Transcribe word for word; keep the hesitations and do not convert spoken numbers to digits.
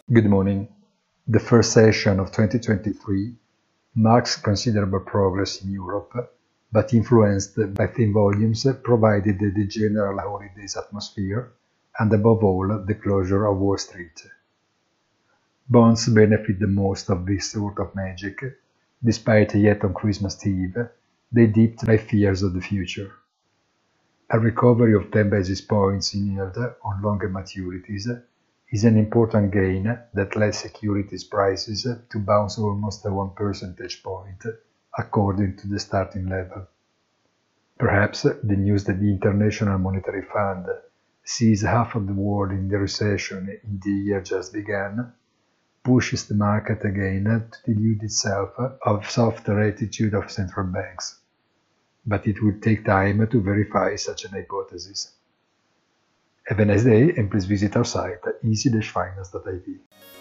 Good morning. The first session of twenty twenty-three marks considerable progress in Europe, but influenced by thin volumes provided the general holidays atmosphere and above all the closure of Wall Street. Bonds benefit the most of this sort of magic, despite yet on Christmas Eve they dipped by fears of the future. A recovery of ten basis points in yield on longer maturities is an important gain that led securities prices to bounce almost one percentage point, according to the starting level. Perhaps the news that the International Monetary Fund sees half of the world in the recession in the year just began pushes the market again to delude itself of softer attitude of central banks. But it will take time to verify such an hypothesis. Have a nice day and please visit our site easy dash finance dot I T.